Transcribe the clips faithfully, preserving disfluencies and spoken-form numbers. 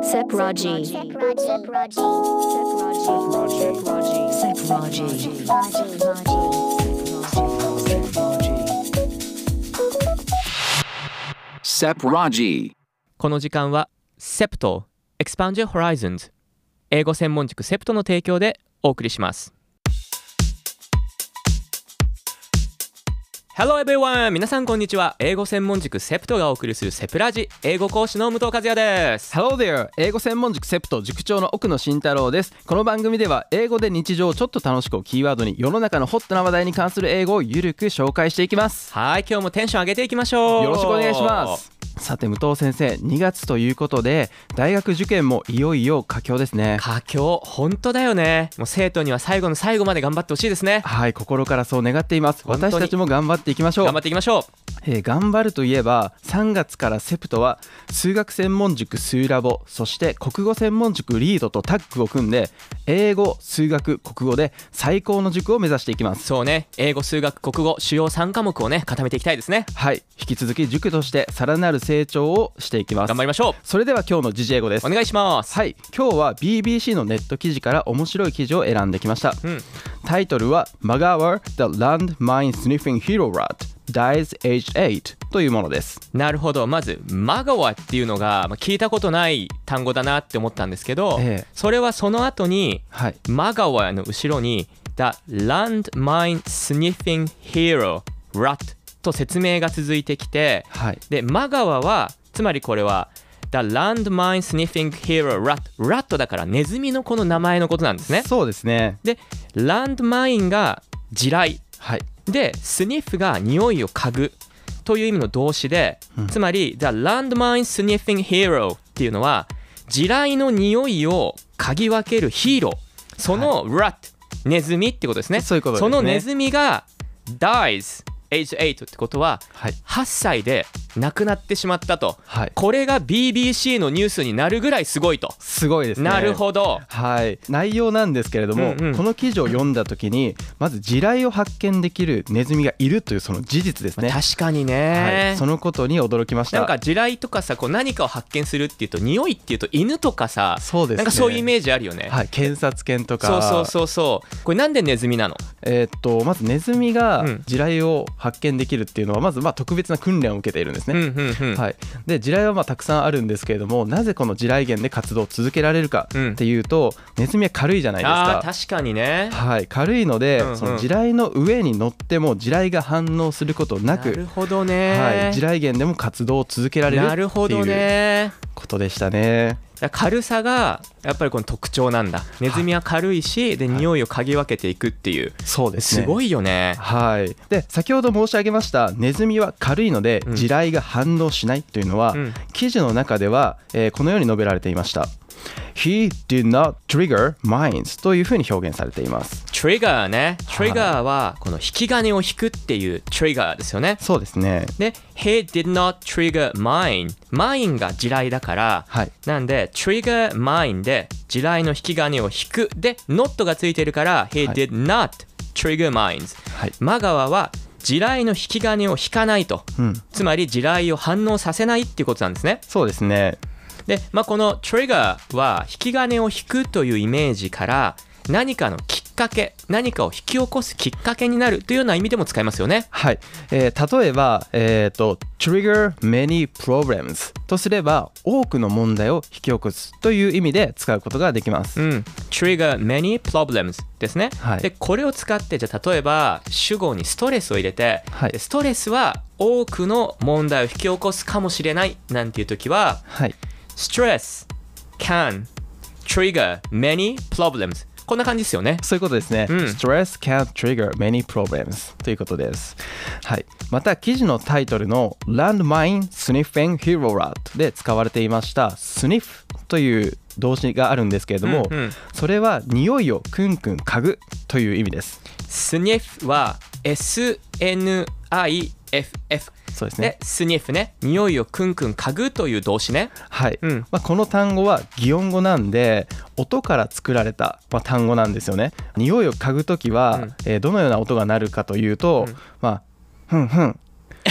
Sepraji Sepraji この時間は セプト Expand Your Horizons 英語専門塾セプトの提供でお送りします。Hello everyone! 皆さんこんにちは。英語専門塾セプトがお送りするセプラジ、英語講師の武藤和也です。 Hello there! 英語専門塾セプト塾長の奥野慎太郎です。この番組では英語で日常をちょっと楽しくをキーワードに世の中のホットな話題に関する英語をゆるく紹介していきます。 はい、今日もテンション上げていきましょう。 よろしくお願いします。さて武藤先生、にがつということで大学受験もいよいよ佳境ですね。 佳境、本当だよね。もう生徒には最後の最後まで頑張ってほしいですね。 はい、心からそう願っています。私たちも頑張っていきましょう。 頑張っていきましょう。 えー、頑張るといえばさんがつからセプトは数学専門塾スーラボ、そして国語専門塾リードとタッグを組んで英語、数学、国語で最高の塾を目指していきます。 そうね、英語、数学、国語主要さんかもくをね固めていきたいですね。 はい、引き続き塾としてさらなる成長をしていきます。 頑張りましょう。 それでは今日の時事英語です。 お願いします。 はい、今日は ビービーシー のネット記事から面白い記事を選んできました、うん、タイトルは Magawa the Landmine Sniffing Hero Rat Dies Aged エイトというものです。 なるほど。まずマガワっていうのが、まあ、聞いたことない単語だなって思ったんですけど、ええ、それはその後に、はい、マガワの後ろに The Landmine Sniffing Hero Rat と説明が続いてきて、はい、でマガワはつまりこれは The Landmine Sniffing Hero Rat Rat だからネズミのこの名前のことなんですね。 そうですね。 で Landmine が地雷、 はい、 でスニッフが匂いを嗅ぐという意味の動詞で、うん、つまり The Landmine Sniffing Hero っていうのは地雷の匂いを嗅ぎ分けるヒーロー、その Rat、はい、ネズミってことですね。 そういうことですね。 そのネズミが Dies Age エイトってことは、はい、はっさいで亡くなってしまったと、はい、これが ビービーシー のニュースになるぐらいすごいと。 すごいですね。 なるほど、 はい、内容なんですけれども、うんうん、この記事を読んだ時にまず地雷を発見できるネズミがいるというその事実ですね。 確かにね、 はい、そのことに驚きました。 なんか地雷とかさ、こう何かを発見するっていうと匂いっていうと犬とかさ、 そうですね、 なんかそういうイメージあるよね、 はい、検察犬とか。 そうそうそうそう。これなんでネズミなの？ えー、っとまずネズミが地雷を発見できるっていうのはまずまあ特別な訓練を受けているんですね、うんうんうん、はい、で地雷はまあたくさんあるんですけれども、なぜこの地雷原で活動を続けられるかっていうと、うん、ネズミは軽いじゃないですか。 あ、確かにね、 はい、軽いので、うんうん、その地雷の上に乗っても地雷が反応することなく、 なるほどね、 はい、地雷原でも活動を続けられるっていうなるほどねことでしたね。 軽さがやっぱりこの特徴なんだ。ネズミは軽いし、はい、で匂いを嗅ぎ分けていくっていう、 そうですね、 すごいよね。 はい。で先ほど申し上げましたネズミは軽いので地雷が反応しないというのは、うん、記事の中では、えー、このように述べられていました。He did not trigger mines というふうに表現されています。 トリガーね。トリガーはこの引き金を引くっていうトリガーですよね。 そうですね。 で He did not trigger mine、 mine が地雷だから、はい、なんで trigger mine で地雷の引き金を引くで not がついてるから He did not trigger mines、はい、マガワは地雷の引き金を引かないと、うん、つまり地雷を反応させないっていうことなんですね。 そうですね。 で、まあ、このトリガーは引き金を引くというイメージから何かのきっかけ、何かを引き起こすきっかけになるというような意味でも使いますよね。 はい、えー、例えば、えーと、trigger many problems とすれば多くの問題を引き起こすという意味で使うことができます、うん、 trigger many problems ですね、はい、でこれを使ってじゃあ例えば主語にストレスを入れて、はい、ストレスは多くの問題を引き起こすかもしれないなんていう時は、はい、stress can trigger many problems、こんな感じですよね。 そういうことですね、うん、Stress can trigger many problems ということです、はい、また記事のタイトルの Landmine Sniffing Hero Rat で使われていました Sniff という動詞があるんですけれども、うんうん、それは匂いをクンクン嗅ぐという意味です。 Sniff は エスエヌアイエフエフ、そうですね。 で、スニフね、匂いをクンクン嗅ぐという動詞ね。 はい、うん、まあ、この単語は擬音語なんで音から作られた、まあ、単語なんですよね。匂いを嗅ぐときは、うん、えー、どのような音が鳴るかというと、うん、まあふんふん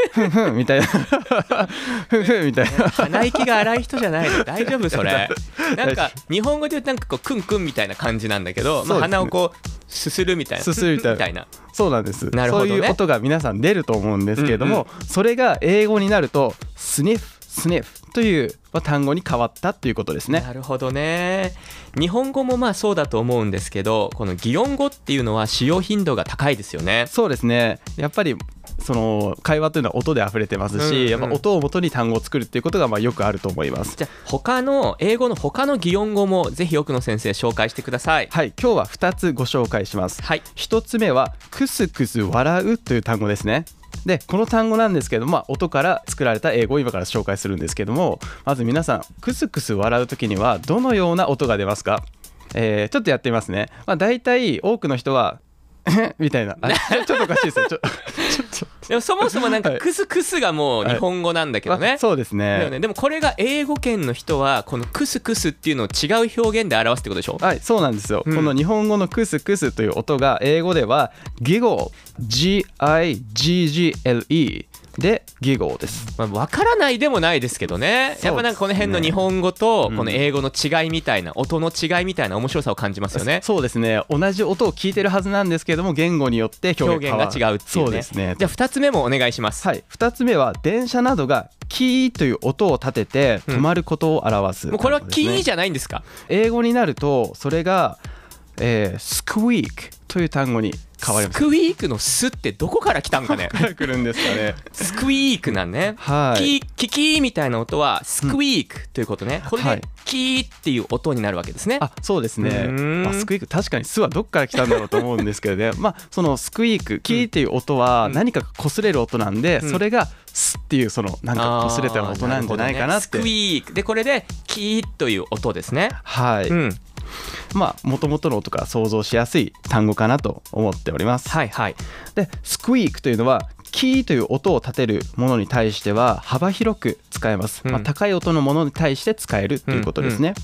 ふんふんみたいなふんふんみたいな鼻息が荒い人じゃないの大丈夫それなんか日本語で言うとなんかこうクンクンみたいな感じなんだけど、まあ、鼻をこうすするみたいなすするみたいなみたいなそうなんです。 なるほどね、 そういう音が皆さん出ると思うんですけれども、うんうん、それが英語になるとスニフスニフという単語に変わったということですね。 なるほどね。日本語もまあそうだと思うんですけど、この擬音語っていうのは使用頻度が高いですよね。 そうですね。やっぱりその会話というのは音で溢れてますし、うんうん、やっぱ音を元に単語を作るっていうことがまあよくあると思います。 じゃあ他の英語の他の擬音語もぜひ奥野先生紹介してください。 はい、今日はふたつご紹介します。 はい、 ひとつめはクスクス笑うという単語ですね。でこの単語なんですけども、まあ、音から作られた英語を今から紹介するんですけども、まず皆さんクスクス笑うときにはどのような音が出ますか？えー、ちょっとやってみますね。まあ、大体多くの人はみたいなあれちょっとおかしいですよちょちょちょでもそもそもなんかクスクスがもう日本語なんだけどね、 はい、そうですね。 だよね。でもこれが英語圏の人はこのクスクスっていうのを違う表現で表すってことでしょ？ はい、そうなんですよ、うん、この日本語のクスクスという音が英語ではギゴー ジーアイジージーエルイー でギゴーです。 まあ、分からないでもないですけどね。やっぱなんかこの辺の日本語とこの英語の違いみたいな、うん、音の違いみたいな面白さを感じますよね。 そうですね。同じ音を聞いてるはずなんですけども言語によって表現が違うっていうね。 そうですね。 じゃあふたつめもお願いします。 はい、ふたつめは電車などがキーという音を立てて止まることを表す、 うん、もうこれはキーじゃないんですか？ 英語になるとそれが、えー、スクイークという単語に変わります。 スクイークのスってどこから来たんかね。 どこから来るんですかね。 スクイークなんね、 はい、 キーキキーみたいな音はスクイークということね、うん、これでキーっていう音になるわけですね。 あ、そうですね。まあ、スクイーク確かにスはどっから来たんだろうと思うんですけどねまあそのスクイークキーっていう音は何かが擦れる音なんで、うん、それがスっていうそのなんか擦れた音なんじゃないかなって、 ね、スクイークでこれでキーという音ですね。 はい、うん、まあ元々の音から想像しやすい単語かなと思っております。 はいはい。 でスクイークというのはキーという音を立てるものに対しては幅広く使えます、うん、まあ、高い音のものに対して使えるということですね、うんうん、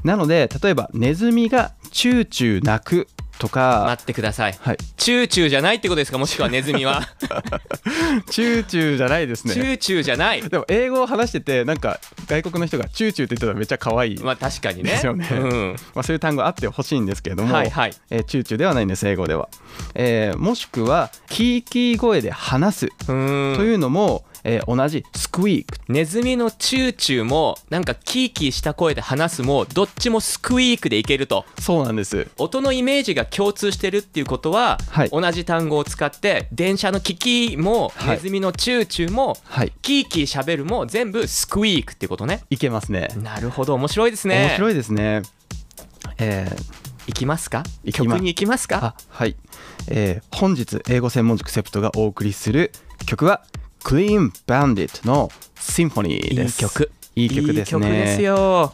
なので例えばネズミがチューチュー鳴くとか。 待ってください、 はい、 チューチューじゃないってことですか？もしくはネズミはチューチューじゃないですね。 チューチューじゃない。 でも英語を話しててなんか外国の人がチューチューって言ってたらめっちゃ可愛い。 まあ確かにね。 ですよね、うん、まあ、そういう単語あってほしいんですけれども、 はいはい、 えー、チューチューではないんです英語では、えー、もしくはキーキー声で話すというのもえー、同じスクイーク。 ネズミのチューチューもなんかキーキーした声で話すもどっちもスクイークでいけると。 そうなんです。 音のイメージが共通してるっていうことは、はい、同じ単語を使って電車のキキも、はい、ネズミのチューチューも、はい、キーキーしゃべるも全部スクイークっていうことね。 いけますね。 なるほど、面白いですね。 面白いですね。えー、 いきますか？ いきま曲に行きますか？ あ、はい、えー、本日英語専門塾セプトがお送りする曲はClean Bandit の Symphony です。 いい曲。 いい曲ですね。 いい曲ですよ。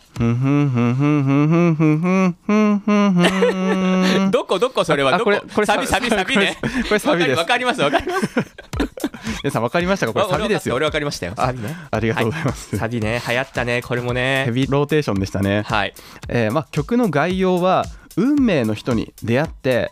どこどこそれはどこ？ これこれサビサビサビね。 これサビです。 わかりますわかります。 皆さんわかりましたか？これサビですよ。 俺わかりましたよ。サビね。 ありがとうございます。 はい、サビね、流行ったね、これもね。 ヘビーローテーションでしたね。 はい。 えー、まあ曲の概要は運命の人に出会って、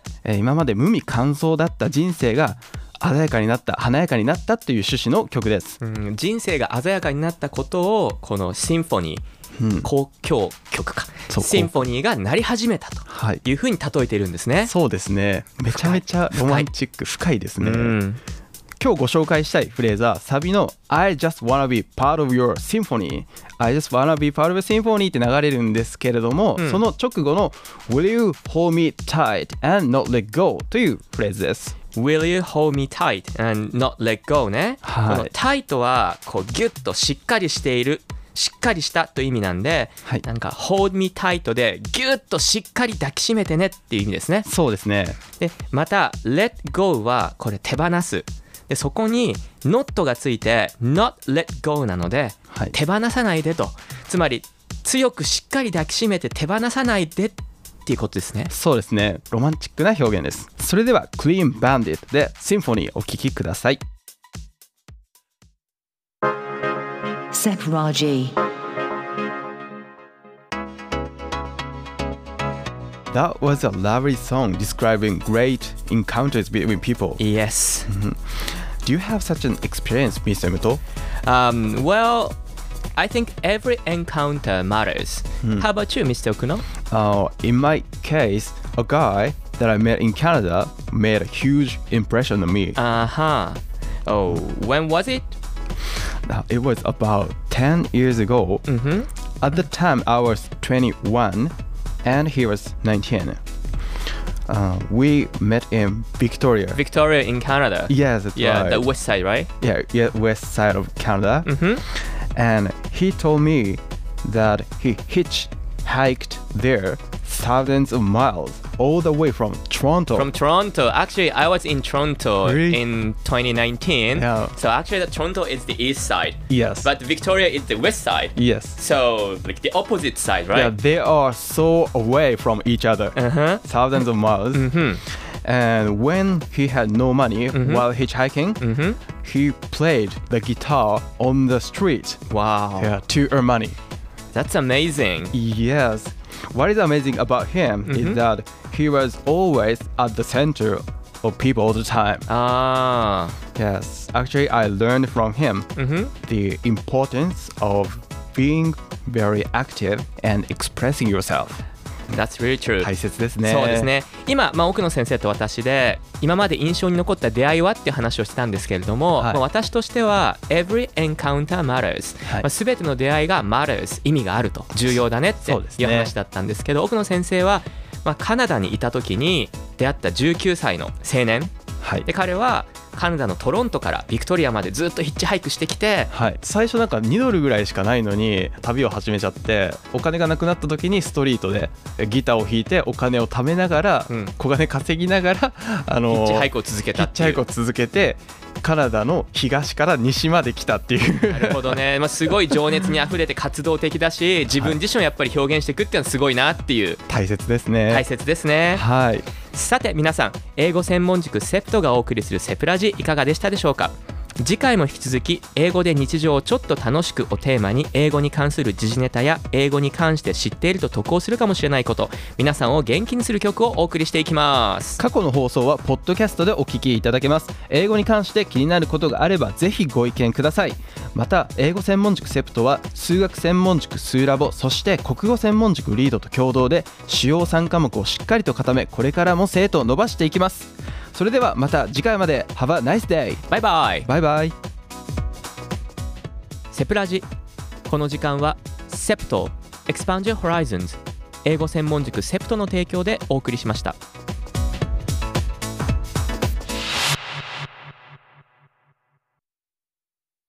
えー、今まで無味乾燥だった人生が鮮やかになった、華やかになったという趣旨の曲です。 うん、人生が鮮やかになったことをこのシンフォニー、うん、交響曲かシンフォニーが鳴り始めたというふうに例えているんですね。 そうですね。めちゃめちゃロマンチック、深いですね。うん、今日ご紹介したいフレーズはサビの I just wanna be part of your symphony I just wanna be part of your symphony って流れるんですけれども、うん、その直後の Will you hold me tight and not let go というフレーズです。 Will you hold me tight and not let go ね、 はい、 この tight はこうギュッとしっかりしている、しっかりしたという意味なんで、はい、なんか hold me tight でギュッとしっかり抱きしめてねっていう意味ですね。 そうですね。 でまた let go はこれ手放すで、そこに not がついて not let go なので、はい、手放さないでと、つまり強くしっかり抱きしめて手放さないでっていうことですね。 そうですね。ロマンチックな表現です。それでは Clean Bandit で Symphony お聴きください。 Sep Raji. That was a lovely song describing great encounters between people. Yes. Do you have such an experience, Mister Muto? Um, well, I think every encounter matters. Hmm. How about you, Mister Okuno? Uh, in my case, a guy that I met in Canada made a huge impression on me. Uh-huh. Oh, when was it? Uh, it was about ten years ago. Mm-hmm. At the time, I was twenty-one and he was nineteen. Uh, we met in Victoria. Victoria in Canada. Yes, that's Yeah, right. the west side, right? Yeah, yeah, west side of Canada. Mm-hmm. And he told me that he hitchhiked there thousands of miles all the way from Toronto. From Toronto. Actually, I was in Toronto Really? in twenty nineteen. Yeah. So actually, the Toronto is the east side. Yes. But Victoria is the west side. yes. So, like the opposite side, right? Yeah, they are so away from each other. Uh-huh. Thousands of miles. Mm-hmm. And when he had no money Mhm. while hitchhiking, Mm-hmm. he played the guitar on the street. Wow. Yeah, to earn money. That's amazing. Yes. What is amazing about him Mhm. is that he was always at the center of people all the time. Ah. Yes. Actually, I learned from him Mm-hmm. the importance of being very active and expressing yourself. That's really true. 大切ですね。 そうですね。今、まあ、奥野先生と私で今まで印象に残った出会いはっていう話をしてたんですけれども、 はいまあ、私としては Every encounter matters、 はいまあ、全ての出会いが matters 意味があると重要だねってそうですねいう話だったんですけど、奥野先生は、まあ、カナダにいた時に出会ったじゅうきゅうさいの青年はいで、彼はカナダのトロントからビクトリアまでずっとヒッチハイクしてきて、 はい、最初なんかにドルぐらいしかないのに旅を始めちゃって、お金がなくなった時にストリートでギターを弾いてお金を貯めながら、 うん小金稼ぎながらあのヒッチハイクを続けヒたっていうッチハイクを続けてカナダの東から西まで来たっていうなるほどね、まあ、すごい情熱にあふれて活動的だし自分自身をやっぱり表現していくっていうのはすごいなっていう大切ですね。 大切ですね。 はいさて皆さん、英語専門塾セプトがお送りするセプラジいかがでしたでしょうか。次回も引き続き英語で日常をちょっと楽しくをテーマに英語に関する時事ネタや英語に関して知っていると得をするかもしれないこと、皆さんを元気にする曲をお送りしていきます。 過去の放送はポッドキャストでお聞きいただけます。英語に関して気になることがあればぜひご意見ください。また英語専門塾セプトは数学専門塾スーラボ、そして国語専門塾リードと共同で主要さん科目をしっかりと固め、これからも生徒を伸ばしていきます。それではまた次回まで。 Have a nice day。 バイバイ。 バイバイ。 セプラジ、この時間はセプト Expand Your Horizons 英語専門塾セプトの提供でお送りしました。